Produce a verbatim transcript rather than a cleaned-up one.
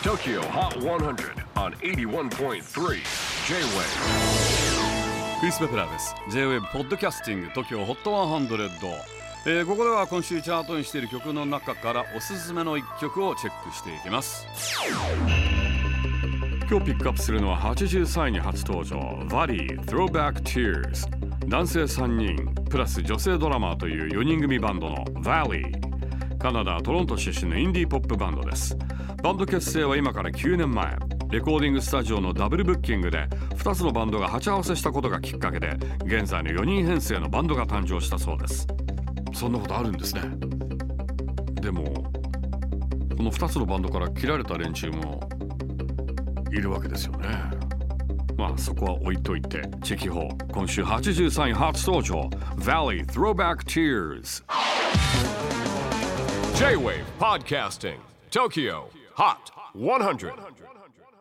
Tokyo Hot one hundred on エイティワンポイントスリー J-Wave。 クリス・ベプラーです。 J-Wave ポッドキャスティング TOKYO ホットひゃく、えー、ここでは今週チャートにしている曲の中からおすすめのいっきょくをチェックしていきます。今日ピックアップするのははちじゅうさんいに初登場 VALI Throwback Tears。 男性さんにんプラス女性ドラマーというよにん組バンドの VALI。 カナダ・トロント出身のインディーポップバンドです。バンド結成は今からきゅうねんまえ、レコーディングスタジオのダブルブッキングでふたつのバンドが鉢合わせしたことがきっかけで、現在のよにん編成のバンドが誕生したそうです。そんなことあるんですね。でもこのふたつのバンドから切られた連中もいるわけですよね。まあそこは置いといて、チェキホー今週はちじゅうさんい初登場 VALI Throwback Tears。 J-Wave Podcasting Tokyo Hot one hundred